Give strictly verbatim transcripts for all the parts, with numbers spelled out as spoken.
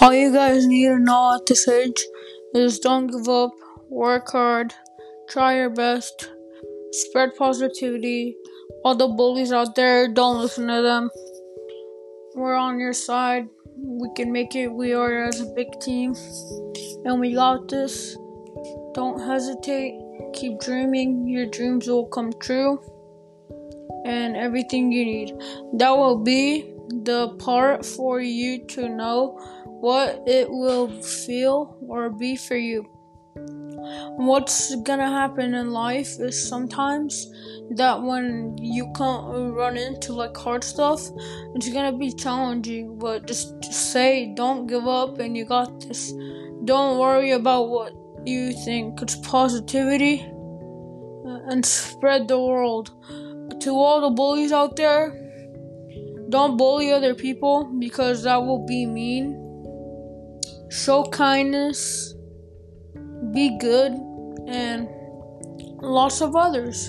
All you guys need to know at this age is don't give up, work hard, try your best, spread positivity. All the bullies out there, don't listen to them. We're on your side. We can make it. We are as a big team. And we got this. Don't hesitate. Keep dreaming. Your dreams will come true. And everything you need. That will be the part for you to know what it will feel or be for you. What's gonna happen in life is sometimes that when you come run into like hard stuff, it's gonna be challenging, but just, just say don't give up and you got this. Don't worry about what you think. It's positivity and spread the world. To all the bullies out there, don't bully other people because that will be mean. Show kindness, be good, and lots of others.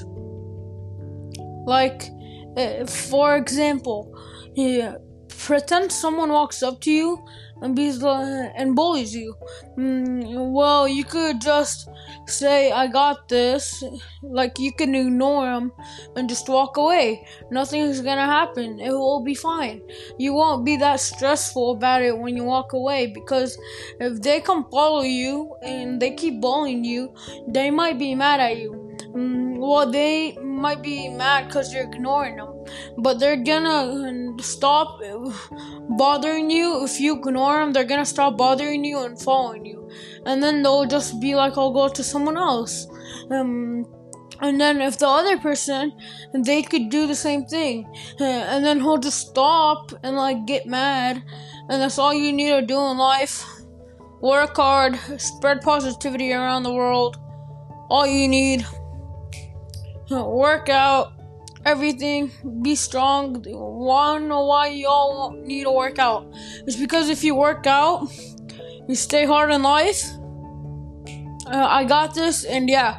Like, uh, for example, yeah, pretend someone walks up to you and be like, and bullies you. Mm, well, you could just say, "I got this." Like, you can ignore them and just walk away. Nothing is gonna happen. It will be fine. You won't be that stressful about it when you walk away, because if they come follow you and they keep bullying you, they might be mad at you. Mm, well, they might be mad because you're ignoring them, but they're gonna stop bothering you. If you ignore them, they're gonna stop bothering you and following you, and then they'll just be like, "I'll go to someone else." Um, and then if the other person, they could do the same thing, and then he'll just stop and like get mad, and that's all you need to do in life. Work hard, spread positivity around the world. All you need. Work out, everything, be strong. Wanna know why y'all need to work out? It's because if you work out, you stay hard in life. Uh, I got this, and yeah,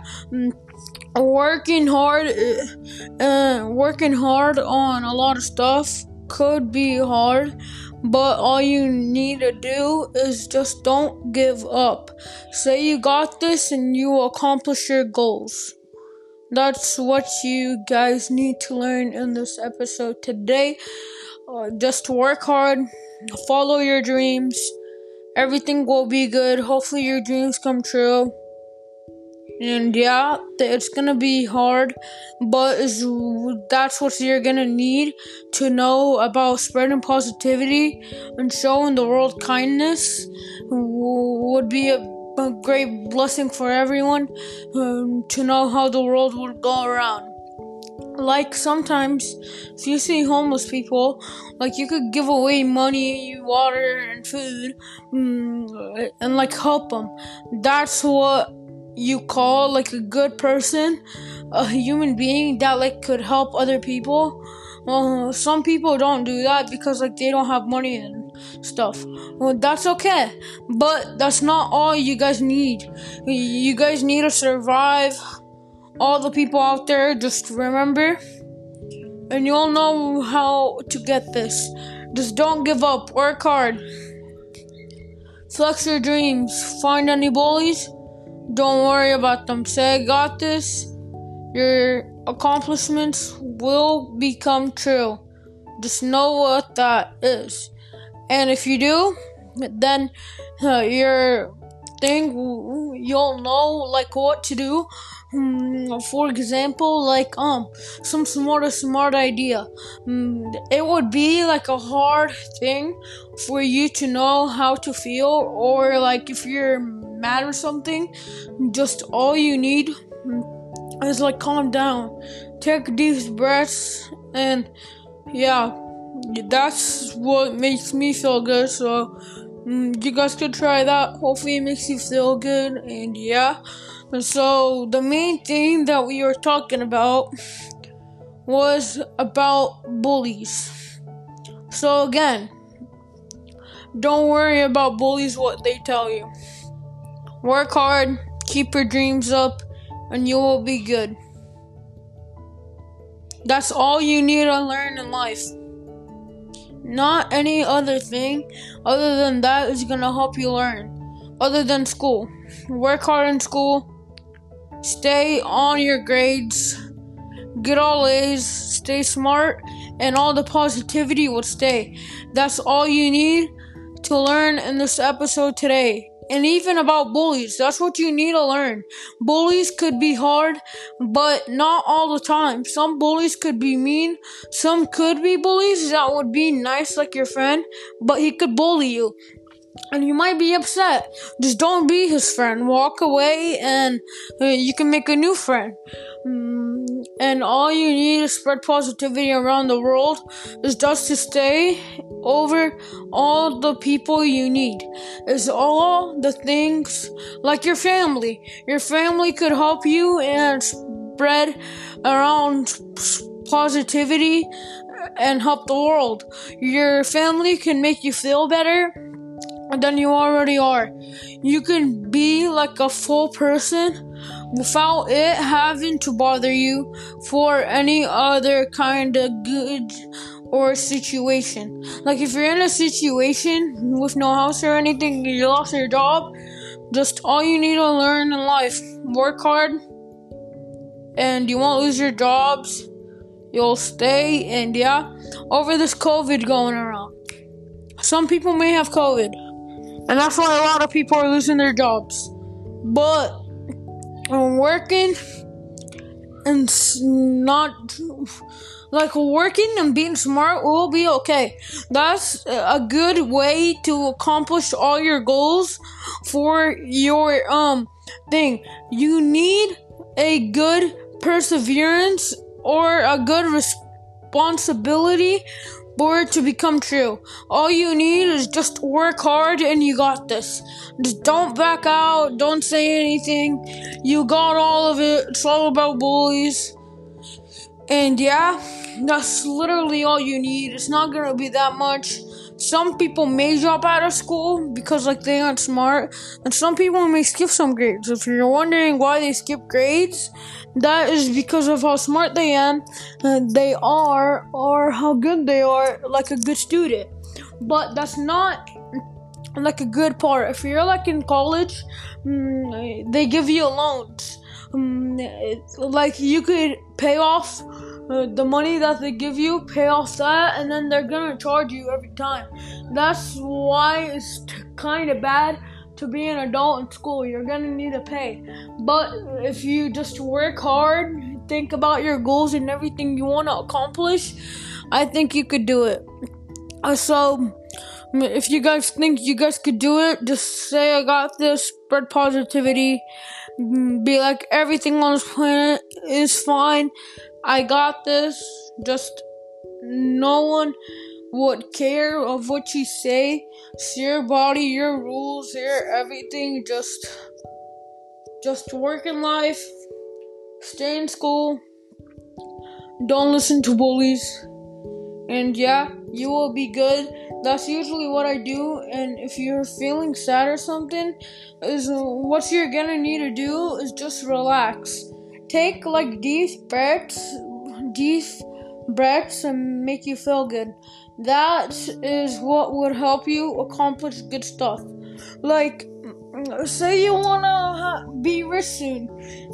working hard, uh, working hard on a lot of stuff could be hard, but all you need to do is just don't give up. Say you got this, and you will accomplish your goals. That's what you guys need to learn in this episode today. Uh, just work hard, follow your dreams. Everything will be good. Hopefully your dreams come true. And yeah, it's gonna be hard, but it's, that's what you're gonna need to know about spreading positivity and showing the world kindness. Would be a A great blessing for everyone, um, to know how the world would go around. Like sometimes, if you see homeless people, like you could give away money, water, and food, um, and like help them. That's what you call like a good person, a human being that like could help other people. Uh, some people don't do that because like they don't have money and stuff. Well, that's okay, but that's not all you guys need. You guys need to survive. All the people out there, just remember, and you'll know how to get this. Just don't give up. Work hard. Flex your dreams. Find any bullies. Don't worry about them. Say, "I got this." Your accomplishments will become true. Just know what that is. And if you do, then uh, your thing, you'll know like what to do. Um, for example, like um some smart smart idea. Um, it would be like a hard thing for you to know how to feel, or like if you're mad or something, just all you need is like calm down, take deep breaths, and yeah, that's what makes me feel good. So mm, you guys could try that. Hopefully it makes you feel good. And yeah, and so the main thing that we were talking about was about bullies. So again, don't worry about bullies, what they tell you. Work hard, keep your dreams up, and you will be good. That's all you need to learn in life. Not any other thing other than that is gonna help you learn. Other than school. Work hard in school. Stay on your grades. Get all A's. Stay smart. And all the positivity will stay. That's all you need to learn in this episode today. And even about bullies, that's what you need to learn. Bullies could be hard, but not all the time. Some bullies could be mean. Some could be bullies that would be nice like your friend, but he could bully you. And you might be upset. Just don't be his friend. Walk away and uh, you can make a new friend. Mm, and all you need to spread positivity around the world is just to stay over all the people you need. It's all the things like your family. Your family could help you and spread around positivity and help the world. Your family can make you feel better than you already are. You can be like a full person without it having to bother you for any other kind of good or situation. Like if you're in a situation with no house or anything, you lost your job, just all you need to learn in life, work hard and you won't lose your jobs. You'll stay. And yeah, over this COVID going around, some people may have COVID, and that's why a lot of people are losing their jobs. But um, working and not like working and being smart will be okay. That's a good way to accomplish all your goals for your um thing. You need a good perseverance or a good responsibility for it to become true. All you need is just work hard and you got this. Just don't back out. Don't say anything. You got all of it. It's all about bullies. And yeah, that's literally all you need. It's not gonna be that much. Some people may drop out of school because like they aren't smart, and some people may skip some grades. If you're wondering why they skip grades, that is because of how smart they am, uh, they are, or how good they are, like a good student. But that's not like a good part. If you're like in college, mm, they give you loans. Um, like you could pay off uh, the money that they give you, pay off that, and then they're gonna charge you every time. That's why it's t- kind of bad to be an adult in school. You're gonna need to pay. But if you just work hard, think about your goals and everything you want to accomplish, I think you could do it. Uh, so if you guys think you guys could do it, just say I got this, spread positivity, be like everything on this planet is fine, I got this. Just no one would care of what you say. It's your body, your rules, your everything. Just just work in life, stay in school, don't listen to bullies, and yeah, you will be good. That's usually what I do. And if you're feeling sad or something, is what you're gonna need to do is just relax. Take like deep breaths, deep breaths, and make you feel good. That is what would help you accomplish good stuff. Like, say you wanna be rich soon,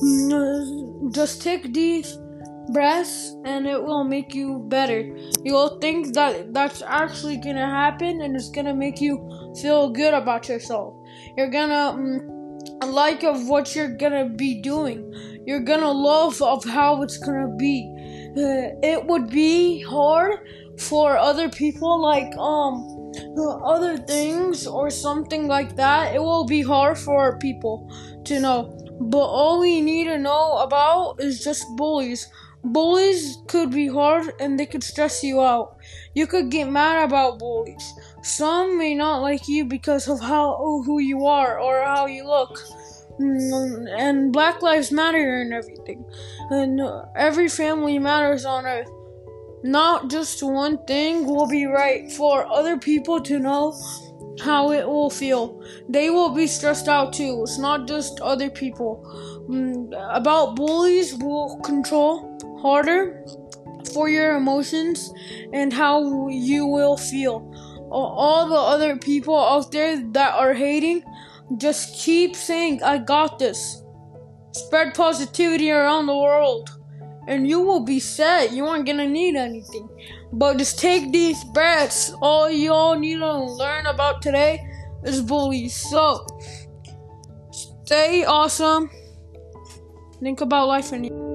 just take deep breaths and it will make you better. You'll think that that's actually gonna happen, and it's gonna make you feel good about yourself. You're gonna um, like of what you're gonna be doing. You're gonna love of how it's gonna be. Uh, it would be hard for other people, like um other things or something like that. It will be hard for people to know. But all we need to know about is just bullies. Bullies could be hard and they could stress you out. You could get mad about bullies. Some may not like you because of how who you are or how you look. And Black Lives Matter and everything. And every family matters on earth. Not just one thing will be right for other people to know how it will feel. They will be stressed out too. It's not just other people. About bullies will control harder for your emotions and how you will feel. All the other people out there that are hating, just keep saying, I got this. Spread positivity around the world, and you will be set. You aren't gonna need anything. But just take these breaths. All y'all need to learn about today is bullies. So, stay awesome. Think about life and you.